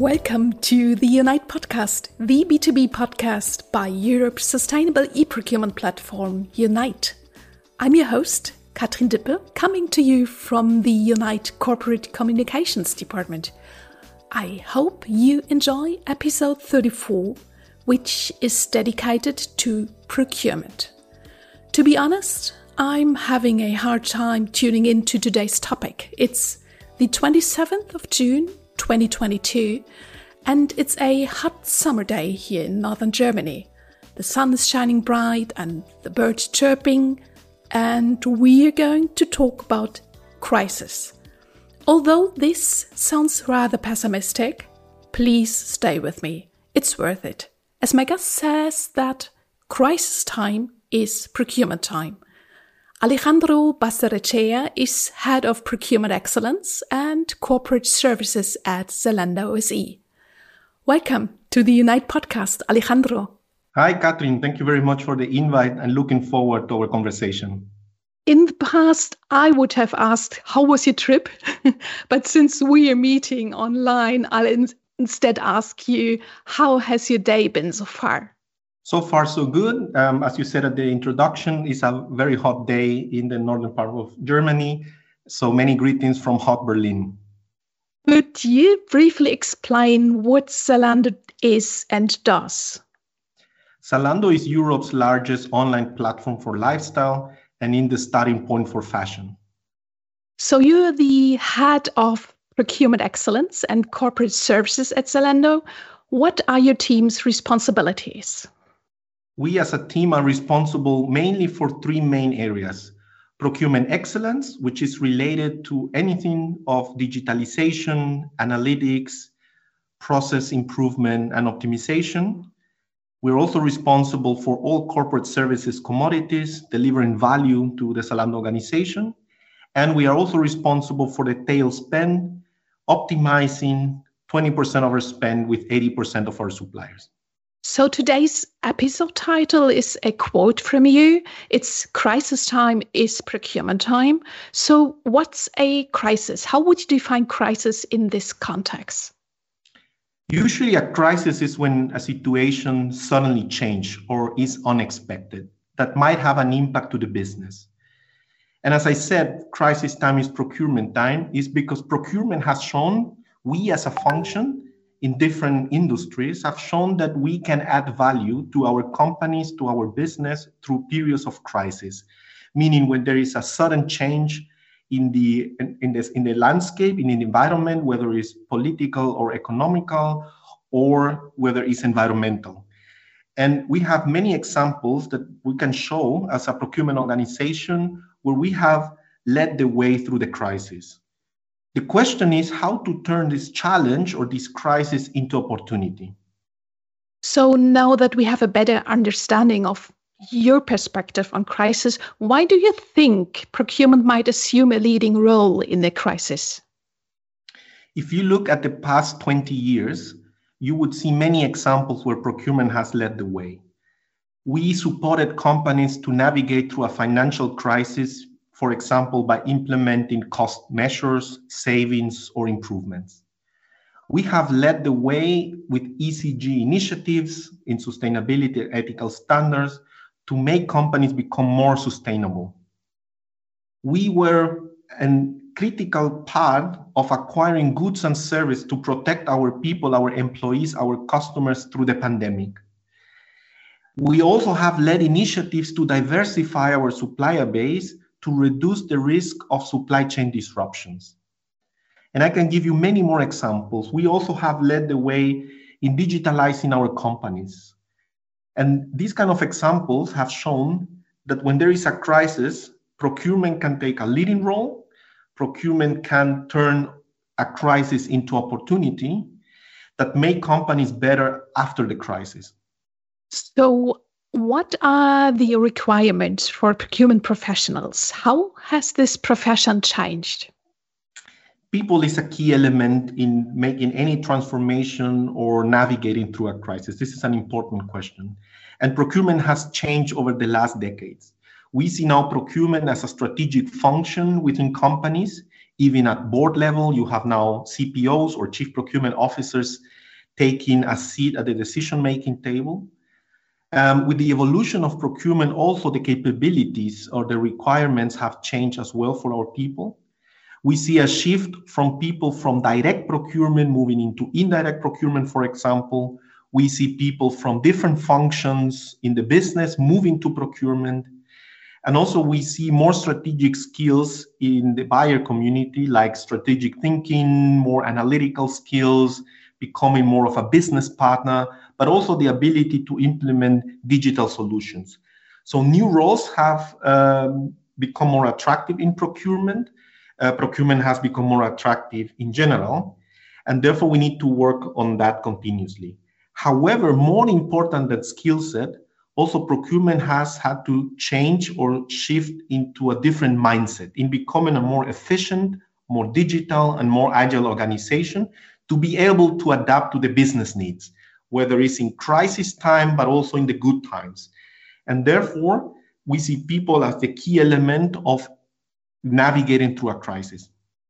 Welcome to the Unite podcast, the B2B podcast by Europe's sustainable e-procurement platform, Unite. I'm your host, Katrin Dippe, coming to you from the Unite Corporate Communications Department. I hope you enjoy episode 34, which is dedicated to procurement. To be honest, I'm having a hard time tuning into today's topic. It's the 27th of June, 2022, and it's a hot summer day here in northern Germany. The sun is shining bright and the birds chirping, and we're going to talk about crisis. Although this sounds rather pessimistic, please stay with me. It's worth it. As my guest says that crisis time is procurement time. Alejandro Basterrechea is Head of Procurement Excellence and Corporate Services at Zalando SE. Welcome to the Unite podcast, Alejandro. Hi, Katrin. Thank you very much for the invite and looking forward to our conversation. In the past, I would have asked, how was your trip? But since we are meeting online, I'll instead ask you, how has your day been so far? So far, so good. As you said at the introduction, it's a very hot day in the northern part of Germany. So many greetings from hot Berlin. Could you briefly explain what Zalando is and does? Zalando is Europe's largest online platform for lifestyle and in the starting point for fashion. So you're the head of Procurement Excellence and Corporate Services at Zalando. What are your team's responsibilities? We as a team are responsible mainly for three main areas. Procurement excellence, which is related to anything of digitalization, analytics, process improvement, and optimization. We're also responsible for all corporate services commodities, delivering value to the Zalando organization. And we are also responsible for the tail spend, optimizing 20% of our spend with 80% of our suppliers. So today's episode title is a quote from you. It's crisis time is procurement time. So what's a crisis? How would you define crisis in this context? Usually a crisis is when a situation suddenly changes or is unexpected that might have an impact to the business. And as I said, crisis time is procurement time is because procurement has shown we as a function in different industries have shown that we can add value to our companies, to our business through periods of crisis, meaning when there is a sudden change in the landscape, in the environment, whether it's political or economical, or whether it's environmental. And we have many examples that we can show as a procurement organization where we have led the way through the crisis. The question is how to turn this challenge or this crisis into opportunity. So now that we have a better understanding of your perspective on crisis, why do you think procurement might assume a leading role in the crisis? If you look at the past 20 years, you would see many examples where procurement has led the way. We supported companies to navigate through a financial crisis, for example, by implementing cost measures, savings, or improvements. We have led the way with ESG initiatives in sustainability and ethical standards to make companies become more sustainable. We were a critical part of acquiring goods and services to protect our people, our employees, our customers through the pandemic. We also have led initiatives to diversify our supplier base to reduce the risk of supply chain disruptions. And I can give you many more examples. We also have led the way in digitalizing our companies. And these kind of examples have shown that when there is a crisis, procurement can take a leading role. Procurement can turn a crisis into opportunity that make companies better after the crisis. So what are the requirements for procurement professionals? How has this profession changed? People is a key element in making any transformation or navigating through a crisis. This is an important question. And procurement has changed over the last decades. We see now procurement as a strategic function within companies, Even at board level, you have now CPOs or chief procurement officers taking a seat at the decision-making table. With the evolution of procurement, also the capabilities or the requirements have changed as well for our people. We see a shift from people from direct procurement moving into indirect procurement, for example. We see people from different functions in the business moving to procurement. And also we see more strategic skills in the buyer community, like strategic thinking, more analytical skills, becoming more of a business partner, but also the ability to implement digital solutions. So new roles have become more attractive in procurement. Procurement has become more attractive in general, and therefore we need to work on that continuously. However, more important than skill set, also procurement has had to change or shift into a different mindset in becoming a more efficient, more digital, and more agile organization to be able to adapt to the business needs, whether it's in crisis time, but also in the good times. And therefore, we see people as the key element of navigating through a crisis.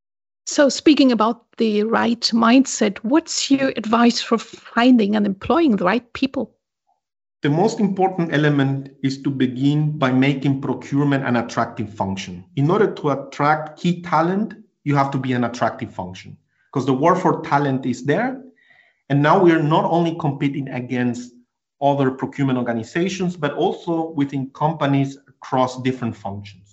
So speaking about the right mindset, what's your advice for finding and employing the right people? The most important element is to begin by making procurement an attractive function. In order to attract key talent, you have to be an attractive function because the war for talent is there. And now we are not only competing against other procurement organizations, but also within companies across different functions.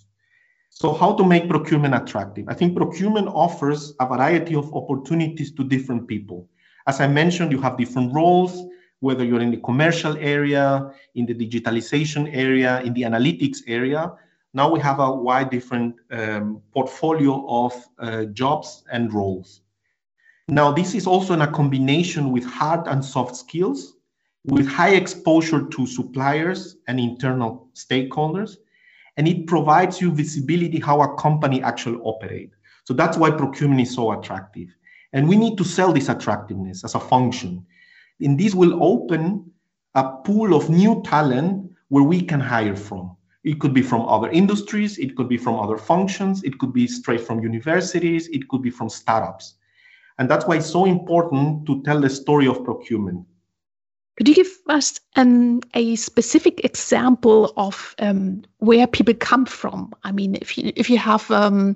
So how to make procurement attractive? I think procurement offers a variety of opportunities to different people. As I mentioned, you have different roles, whether you're in the commercial area, in the digitalization area, in the analytics area. Now we have a wide different portfolio of jobs and roles. Now, this is also in a combination with hard and soft skills, with high exposure to suppliers and internal stakeholders. And it provides you visibility how a company actually operates. So that's why procurement is so attractive. And we need to sell this attractiveness as a function. And this will open a pool of new talent where we can hire from. It could be from other industries, it could be from other functions, it could be straight from universities, it could be from startups. And that's why it's so important to tell the story of procurement. Could you give us a specific example of where people come from? I mean, if you have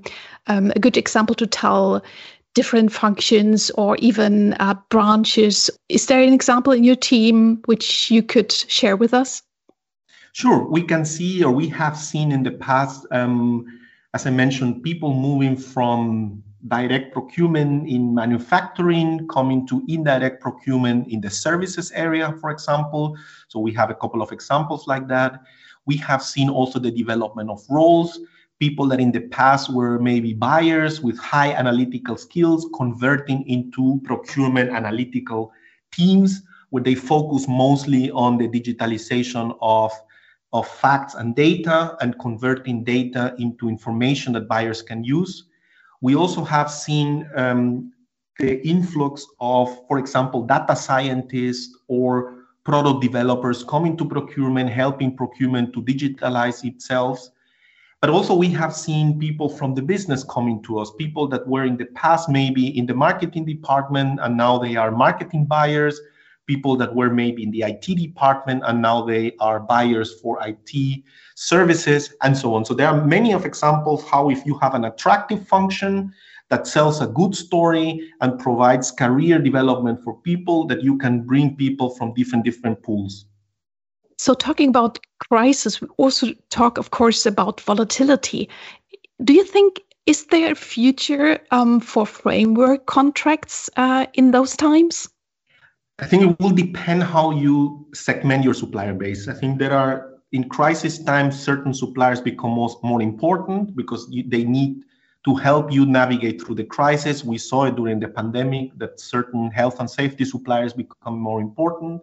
a good example to tell different functions or even branches, is there an example in your team which you could share with us? Sure. We can see, or we have seen in the past, as I mentioned, people moving from direct procurement in manufacturing, coming to indirect procurement in the services area, for example. So we have a couple of examples like that. We have seen also the development of roles, people that in the past were maybe buyers with high analytical skills, converting into procurement analytical teams, where they focus mostly on the digitalization of facts and data and converting data into information that buyers can use. We also have seen the influx of, for example, data scientists or product developers coming to procurement, helping procurement to digitalize itself. But also we have seen people from the business coming to us, people that were in the past maybe in the marketing department and now they are marketing buyers, people that were maybe in the IT department and now they are buyers for IT services and so on. So there are many of examples how if you have an attractive function that sells a good story and provides career development for people, that you can bring people from different pools. So talking about crisis, we also talk, of course, about volatility. Do you think, is there a future for framework contracts in those times? I think it will depend how you segment your supplier base. I think there are, in crisis times, certain suppliers become more important because they need to help you navigate through the crisis. We saw it during the pandemic that certain health and safety suppliers become more important,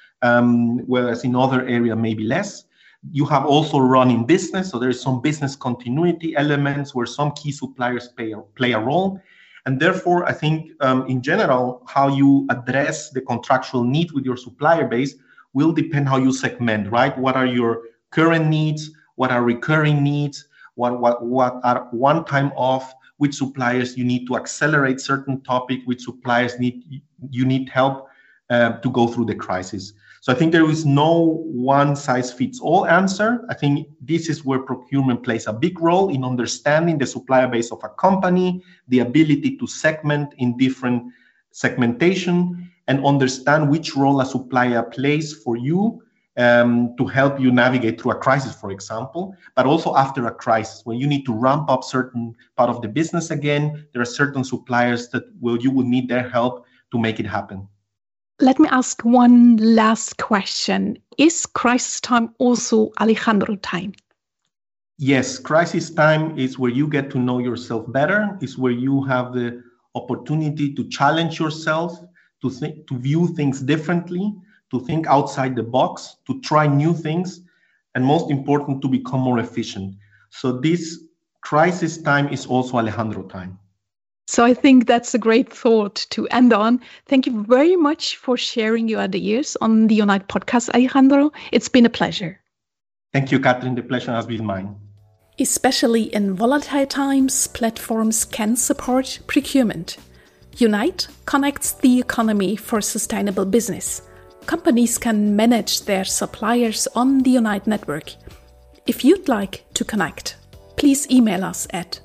whereas in other areas, maybe less. You have also running business, so there is some business continuity elements where some key suppliers play a role. And therefore, I think in general, how you address the contractual need with your supplier base will depend how you segment, right? What are your current needs? What are recurring needs? What are one time off? which suppliers you need to accelerate certain topic, which suppliers you need help to go through the crisis. So I think there is no one-size-fits-all answer. I think this is where procurement plays a big role in understanding the supplier base of a company, the ability to segment in different segmentation, and understand which role a supplier plays for you to help you navigate through a crisis, for example, but also after a crisis, when you need to ramp up certain part of the business again, there are certain suppliers that you will need their help to make it happen. Let me ask one last question. Is crisis time also Alejandro time? Yes, crisis time is where you get to know yourself better. It's where you have the opportunity to challenge yourself, to view things differently, to think outside the box, to try new things, and most important, to become more efficient. So this crisis time is also Alejandro time. So I think that's a great thought to end on. Thank you very much for sharing your ideas on the Unite podcast, Alejandro. It's been a pleasure. Thank you, Catherine. The pleasure has been mine. Especially in volatile times, platforms can support procurement. Unite connects the economy for sustainable business. Companies can manage their suppliers on the Unite network. If you'd like to connect, please email us at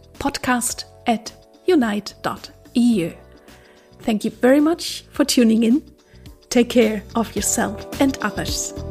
podcast@unite.eu. Thank you very much for tuning in. Take care of yourself and others.